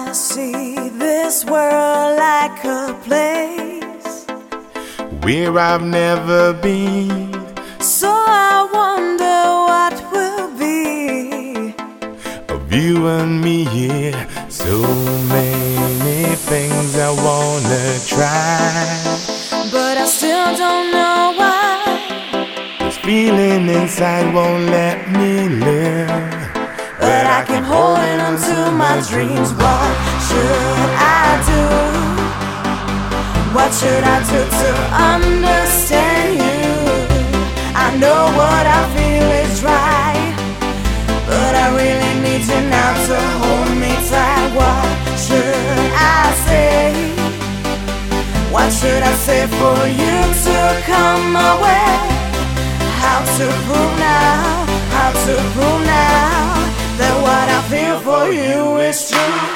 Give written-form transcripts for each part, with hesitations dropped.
I see this world like a place where I've never been. So I wonder what will be of you and me here. So many things I wanna try, but I still don't know why. This feeling inside won't let me live, but I keep holding on to my dreams. What should I do? What should I do to understand you? I know what I feel is right, but I really need you now to hold me tight. What should I say? What should I say for you to come my way? How to prove now, how to prove now that what I feel for you is true.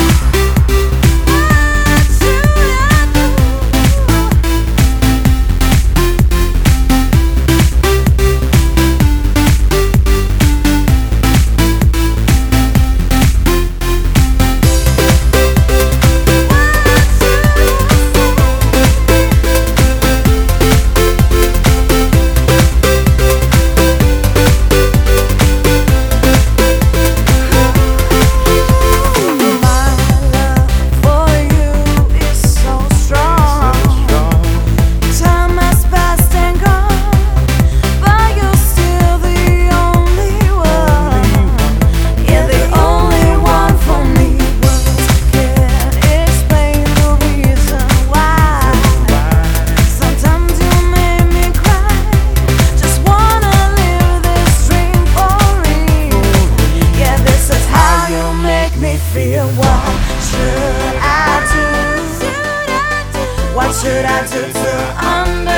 Feel. What should I do? What should I do to understand?